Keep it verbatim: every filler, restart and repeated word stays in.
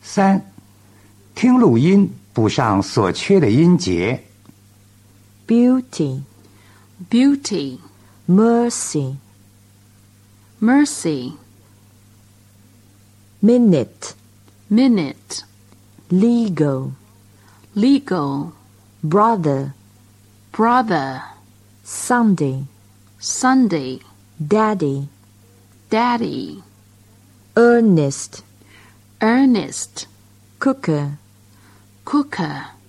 三，听录音补上所缺的音节。 beauty, beauty, mercy, mercy, minute, minute, legal, legal, brother, brother, Sunday, Sunday, daddy, daddy, earnest, earnest, cooker, cooker,